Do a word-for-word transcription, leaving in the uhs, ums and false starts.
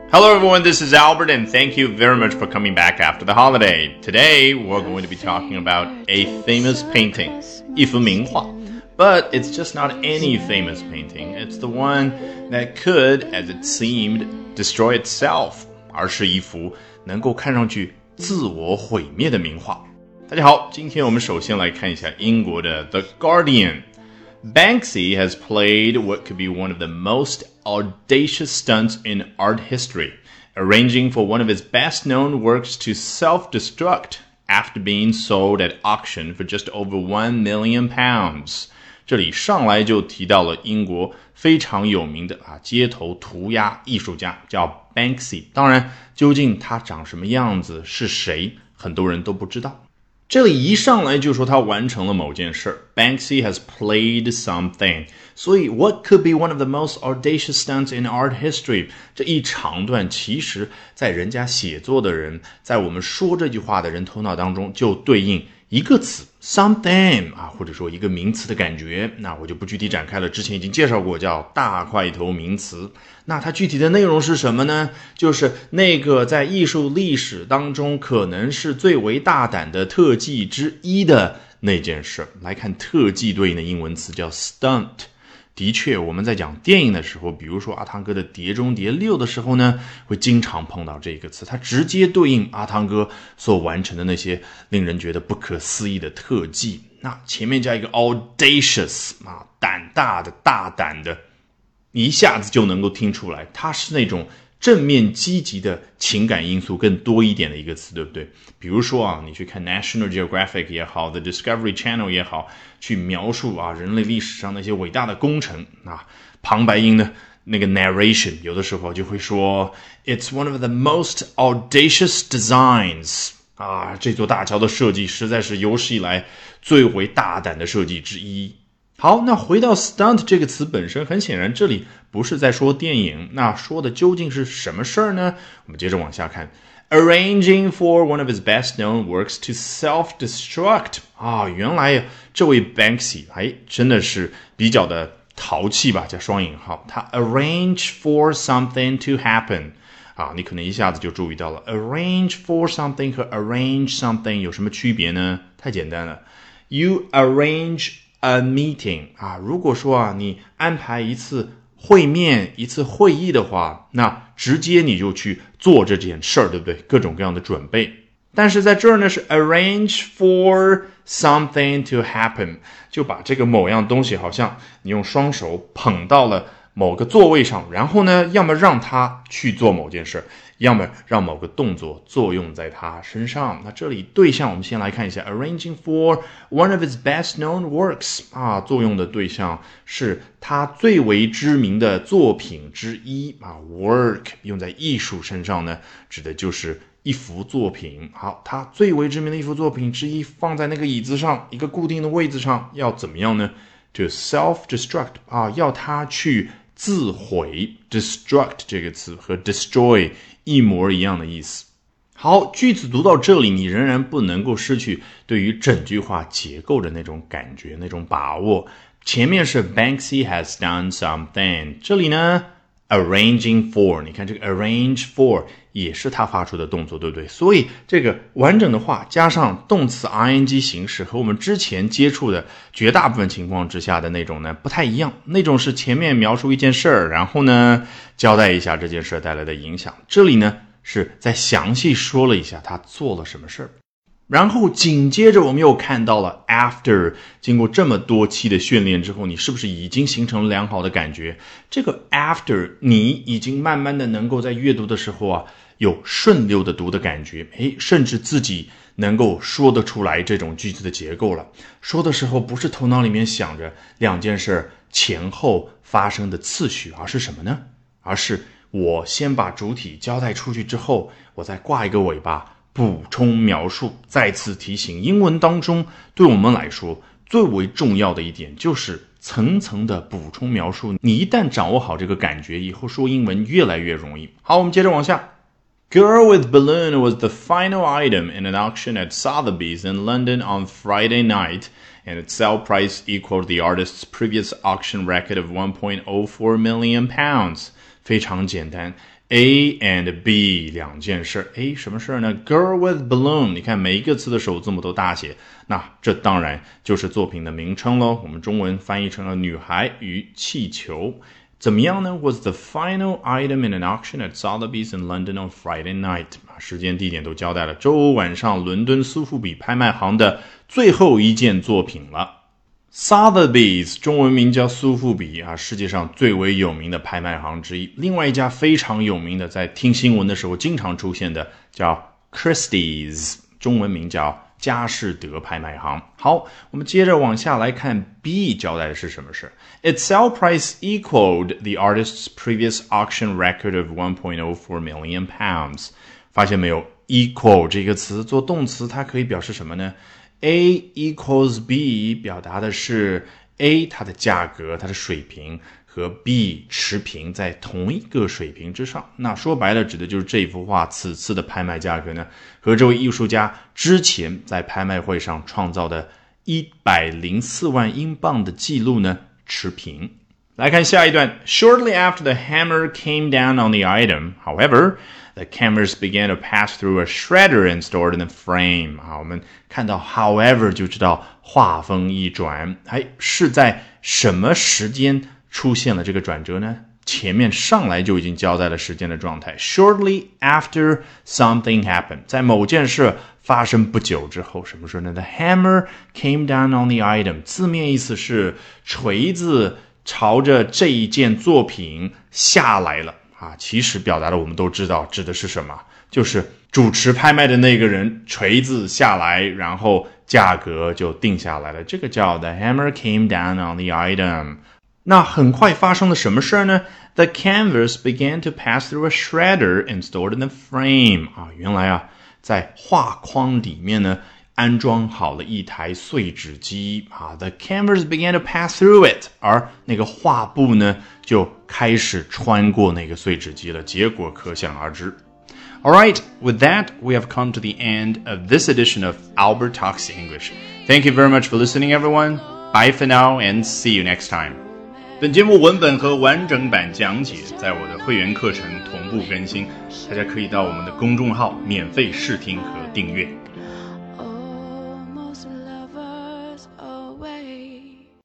Hello everyone, this is Albert and thank you very much for coming back after the holiday. Today we're going to be talking about a famous painting, 一幅名画. But it's just not any famous painting. It's the one that could, as it seemed, destroy itself. 而是一幅能够看上去自我毁灭的名画。大家好，今天我们首先来看一下英国的 The Guardian.Banksy has played what could be one of the most audacious stunts in art history, arranging for one of his best-known works to self-destruct after being sold at auction for just over one million pounds. 这里上来就提到了英国非常有名的啊街头涂鸦艺术家，叫 Banksy。当然，究竟他长什么样子，是谁，很多人都不知道。这里一上来就说他完成了某件事 Banksy has played something 所以 what could be one of the most audacious stunts in art history 这一长段其实在人家写作的人在我们说这句话的人头脑当中就对应一个词 something 啊，或者说一个名词的感觉，那我就不具体展开了，之前已经介绍过叫大块头名词。那它具体的内容是什么呢？就是那个在艺术历史当中可能是最为大胆的特技之一的那件事。来看特技对应的英文词叫 stunt。的确我们在讲电影的时候，比如说阿汤哥的碟中谍六的时候呢，会经常碰到这个词，它直接对应阿汤哥所完成的那些令人觉得不可思议的特技。那前面加一个 audacious 啊，胆大的大胆的，你一下子就能够听出来它是那种正面积极的情感因素更多一点的一个词，对不对？比如说啊，你去看 National Geographic 也好 The Discovery Channel 也好，去描述啊人类历史上那些伟大的工程啊，旁白音的那个 narration 有的时候就会说 It's one of the most audacious designs 啊，这座大桥的设计实在是有史以来最为大胆的设计之一。好，那回到 stunt 这个词本身，很显然这里不是在说电影，那说的究竟是什么事儿呢？我们接着往下看 Arranging for one of his best-known works to self-destruct 啊，原来这位 Banksy 哎，真的是比较的淘气吧，加双引号，他 arrange for something to happen 啊，你可能一下子就注意到了 arrange for something 和 arrange something 有什么区别呢？太简单了 You arrange a meeting 啊，如果说啊你安排一次会面一次会议的话，那直接你就去做这件事儿，对不对？各种各样的准备。但是在这儿呢是 arrange for something to happen 就把这个某样东西好像你用双手捧到了某个座位上，然后呢要么让他去做某件事，要么让某个动作作用在他身上。那这里对象我们先来看一下 arranging for one of his best known works 啊，作用的对象是他最为知名的作品之一啊 work 用在艺术身上呢，指的就是一幅作品。好，他最为知名的一幅作品之一放在那个椅子上，一个固定的位置上，要怎么样呢？ To self-destruct 啊，要他去自毁 destruct 这个词和 destroy 一模一样的意思。好，句子读到这里，你仍然不能够失去对于整句话结构的那种感觉，那种把握。前面是 Banksy has done something， 这里呢 arranging for， 你看这个 arrange for 也是他发出的动作，对不对？所以这个完整的话加上动词 ing 形式和我们之前接触的绝大部分情况之下的那种呢不太一样，那种是前面描述一件事儿，然后呢交代一下这件事带来的影响，这里呢是在详细说了一下他做了什么事儿。然后紧接着我们又看到了 after 经过这么多期的训练之后，你是不是已经形成了良好的感觉？这个 after 你已经慢慢的能够在阅读的时候啊有顺溜的读的感觉，诶，甚至自己能够说得出来这种句子的结构了。说的时候不是头脑里面想着两件事前后发生的次序，而是什么呢？而是我先把主体交代出去之后，我再挂一个尾巴补充描述。再次提醒，英文当中对我们来说最为重要的一点就是层层的补充描述，你一旦掌握好这个感觉，以后说英文越来越容易。好，我们接着往下。Girl with Balloon was the final item in an auction at Sotheby's in London on Friday night, and its sale price equaled the artist's previous auction record of one point oh four million pounds, 非常简单。A and B 两件事。 A 什么事呢？ Girl with balloon， 你看每一个词的首字母都大写，那这当然就是作品的名称咯，我们中文翻译成了女孩与气球。怎么样呢？ Was the final item in an auction at Sotheby's in London on Friday night。 时间地点都交代了，周五晚上伦敦苏富比拍卖行的最后一件作品了。Sotheby's 中文名叫苏富比啊，世界上最为有名的拍卖行之一。另外一家非常有名的，在听新闻的时候经常出现的叫 Christie's， 中文名叫佳士得拍卖行。好，我们接着往下来看 B 交代的是什么事。 Its sale price equaled the artist's previous auction record of one point oh four million pounds。 发现没有， equal 这个词做动词它可以表示什么呢？ A equals B 表达的是 A 它的价格，它的水平和 B 持平，在同一个水平之上。那说白了指的就是这幅画此次的拍卖价格呢，和这位艺术家之前在拍卖会上创造的一百零四万英镑的记录呢持平。来看下一段。 Shortly after the hammer came down on the item, however, the cameras began to pass through a shredder and stored in the frame。 好，我们看到 however 就知道话锋一转，哎，是在什么时间出现了这个转折呢？前面上来就已经交代了时间的状态。 Shortly after something happened， 在某件事发生不久之后。什么事呢？ The hammer came down on the item， 字面意思是锤子朝着这一件作品下来了啊，其实表达的我们都知道指的是什么，就是主持拍卖的那个人锤子下来，然后价格就定下来了，这个叫 The hammer came down on the item。 那很快发生了什么事呢？ The canvas began to pass through a shredder and stored in the frame。 啊，原来啊，在画框里面呢安装好了一台碎纸机啊 ，The canvas began to pass through it， 而那个画布呢就开始穿过那个碎纸机了，结果可想而知。Alright, with that, we have come to the end of this edition of Albert Talks English. Thank you very much for listening, everyone. Bye for now and see you next time. 本节目文本和完整版讲解在我的会员课程同步更新，大家可以到我们的公众号免费试听和订阅。